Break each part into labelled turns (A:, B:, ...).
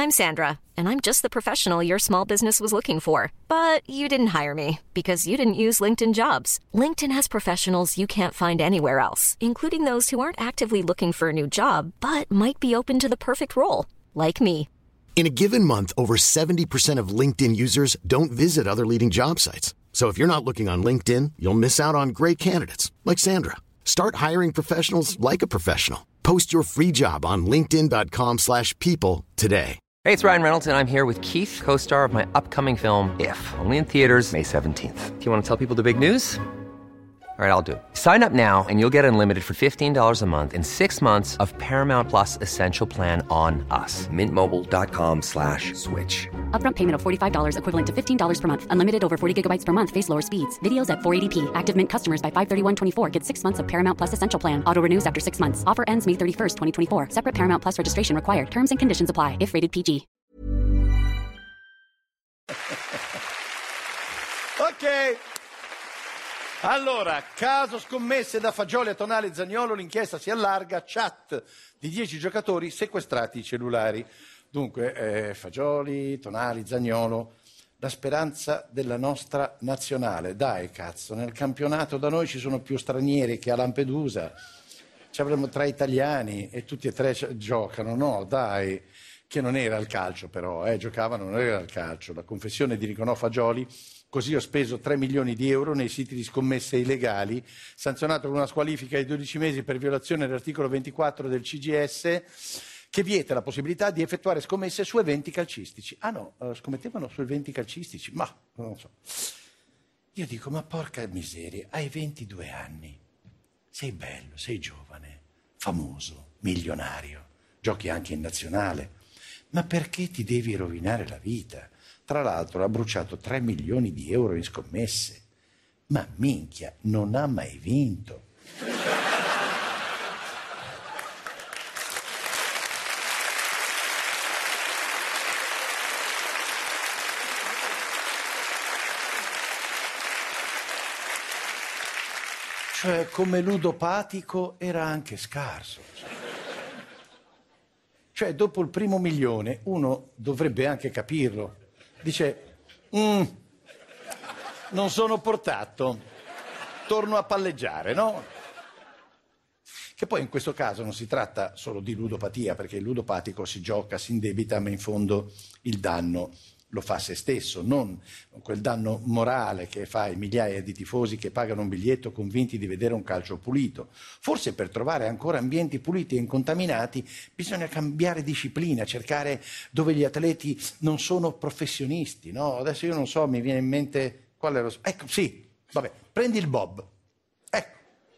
A: I'm Sandra, and I'm just the professional your small business was looking for. But you didn't hire me because you didn't use LinkedIn Jobs. LinkedIn has professionals you can't find anywhere else, including those who aren't actively looking for a new job, but might be open to the perfect role, like me.
B: In a given month, over 70% of LinkedIn users don't visit other leading job sites. So if you're not looking on LinkedIn, you'll miss out on great candidates like Sandra. Start hiring professionals like a professional. Post your free job on linkedin.com/people today.
C: Hey, it's Ryan Reynolds, and I'm here with Keith, co-star of my upcoming film, If, only in theaters May 17th. Do you want to tell people the big news? All right, I'll do it. Sign up now and you'll get unlimited for $15 a month and 6 months of Paramount Plus Essential Plan on us. MintMobile.com/switch.
D: Upfront payment of $45 equivalent to $15 per month. Unlimited over 40 gigabytes per month. Face lower speeds. Videos at 480p. Active Mint customers by 531.24 get 6 months of Paramount Plus Essential Plan. Auto renews after 6 months. Offer ends May 31st, 2024. Separate Paramount Plus registration required. Terms and conditions apply if rated PG.
E: Ok. Allora, caso scommesse da Fagioli a Tonali Zaniolo, l'inchiesta si allarga, chat di 10 giocatori sequestrati i cellulari. Dunque, Fagioli, Tonali, Zaniolo, la speranza della nostra nazionale. Dai, cazzo, nel campionato da noi ci sono più stranieri che a Lampedusa. Ci avremo 3 italiani e tutti e 3 giocano, no? Dai, che non era il calcio però, giocavano, non era il calcio. La confessione di Nicolò Fagioli. Così ho speso 3 milioni di euro nei siti di scommesse illegali, sanzionato con una squalifica di 12 mesi per violazione dell'articolo 24 del CGS, che vieta la possibilità di effettuare scommesse su eventi calcistici. Ah no, scommettevano su eventi calcistici? Ma, non so. Io dico, ma porca miseria, hai 22 anni, sei bello, sei giovane, famoso, milionario, giochi anche in nazionale, ma perché ti devi rovinare la vita? Tra l'altro ha bruciato 3 milioni di euro in scommesse. Ma minchia, non ha mai vinto. Cioè, come ludopatico era anche scarso. Cioè, dopo il primo milione, uno dovrebbe anche capirlo. Dice, non sono portato, torno a palleggiare, no? Che poi in questo caso non si tratta solo di ludopatia, perché il ludopatico si gioca, si indebita, ma in fondo il danno lo fa a se stesso, non quel danno morale che fa ai migliaia di tifosi che pagano un biglietto convinti di vedere un calcio pulito. Forse per trovare ancora ambienti puliti e incontaminati bisogna cambiare disciplina, cercare dove gli atleti non sono professionisti, no? Adesso io non so, mi viene in mente qual è lo... Ecco, sì, vabbè, prendi il bob. Ecco.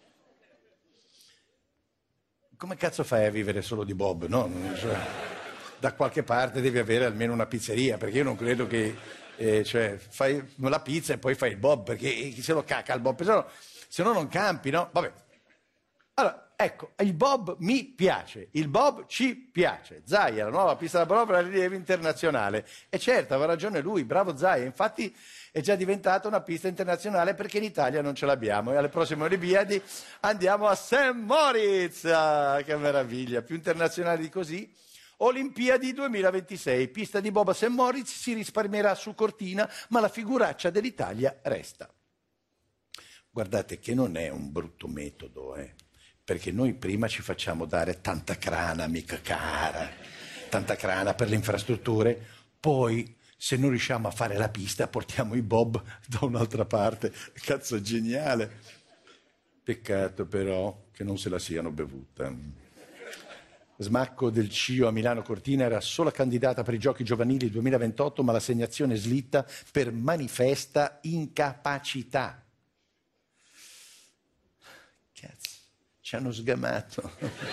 E: Come cazzo fai a vivere solo di bob, no? Da qualche parte devi avere almeno una pizzeria, perché io non credo che cioè, fai la pizza e poi fai il bob, perché chi se lo caca il bob, se no non campi, no? Vabbè. Allora, ecco, il bob mi piace, il bob ci piace. Zaia, la nuova pista da bob a rilievo internazionale. E certo, aveva ragione lui, bravo Zaia, infatti è già diventata una pista internazionale perché in Italia non ce l'abbiamo e alle prossime Olimpiadi andiamo a St. Moritz. Ah, che meraviglia, più internazionale di così. Olimpiadi 2026, pista di bob a St. Moritz, si risparmierà su Cortina, ma la figuraccia dell'Italia resta. Guardate che non è un brutto metodo, perché noi prima ci facciamo dare tanta crana, mica cara, tanta crana per le infrastrutture, poi se non riusciamo a fare la pista portiamo i bob da un'altra parte. Cazzo, geniale. Peccato però che non se la siano bevuta. Smacco del CIO a Milano Cortina era sola candidata per i Giochi Giovanili 2028, ma l'assegnazione slitta per manifesta incapacità. Cazzo, ci hanno sgamato.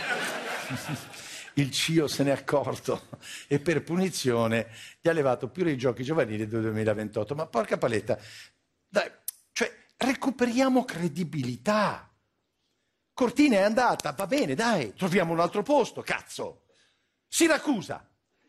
E: Il CIO se n'è accorto e per punizione gli ha levato pure i Giochi Giovanili del 2028. Ma porca paletta, dai, cioè recuperiamo credibilità. Cortina è andata, va bene, dai, troviamo un altro posto, cazzo. Siracusa.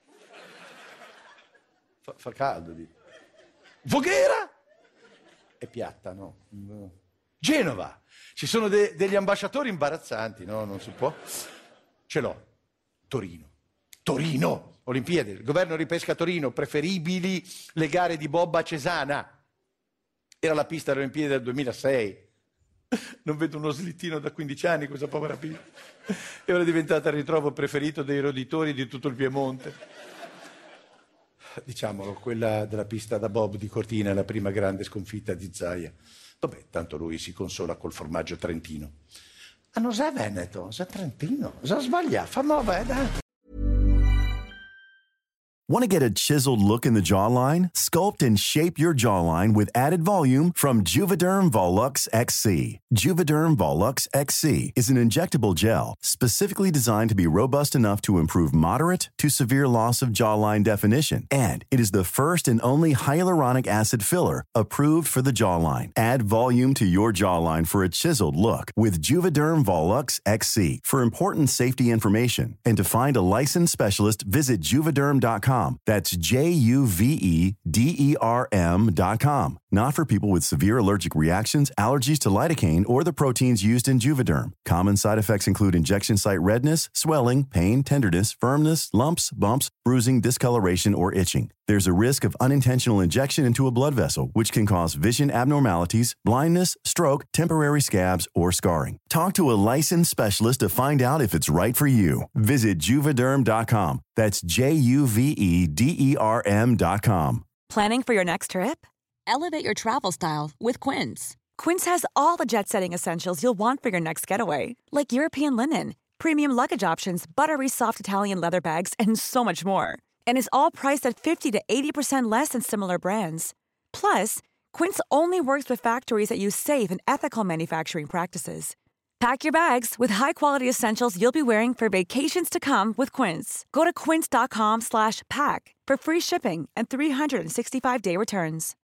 E: Fa caldo lì. Voghera? È piatta, no? Genova. Ci sono degli ambasciatori imbarazzanti, no? Non si può. Ce l'ho. Torino. Olimpiadi, il governo ripesca Torino, preferibili le gare di bob a Cesana. Era la pista delle Olimpiadi del 2006. Non vedo uno slittino da 15 anni, questa povera pista. E ora è diventata il ritrovo preferito dei roditori di tutto il Piemonte. Diciamolo, quella della pista da bob di Cortina è la prima grande sconfitta di Zaia. Vabbè, tanto lui si consola col formaggio trentino. Ah, non sa Veneto, sa Trentino. Sa sbaglia, fa nuova,
F: Want to get a chiseled look in the jawline? Sculpt and shape your jawline with added volume from Juvederm Volux XC. Juvederm Volux XC is an injectable gel specifically designed to be robust enough to improve moderate to severe loss of jawline definition. And it is the first and only hyaluronic acid filler approved for the jawline. Add volume to your jawline for a chiseled look with Juvederm Volux XC. For important safety information and to find a licensed specialist, visit Juvederm.com. That's JUVEDERM.com. Not for people with severe allergic reactions, allergies to lidocaine, or the proteins used in Juvederm. Common side effects include injection site redness, swelling, pain, tenderness, firmness, lumps, bumps, bruising, discoloration, or itching. There's a risk of unintentional injection into a blood vessel, which can cause vision abnormalities, blindness, stroke, temporary scabs, or scarring. Talk to a licensed specialist to find out if it's right for you. Visit Juvederm.com. That's JUVEDERM.com.
G: Planning for your next trip? Elevate your travel style with Quince. Quince has all the jet-setting essentials you'll want for your next getaway, like European linen, premium luggage options, buttery soft Italian leather bags, and so much more. And is all priced at 50 to 80% less than similar brands. Plus, Quince only works with factories that use safe and ethical manufacturing practices. Pack your bags with high-quality essentials you'll be wearing for vacations to come with Quince. Go to quince.com/pack for free shipping and 365-day returns.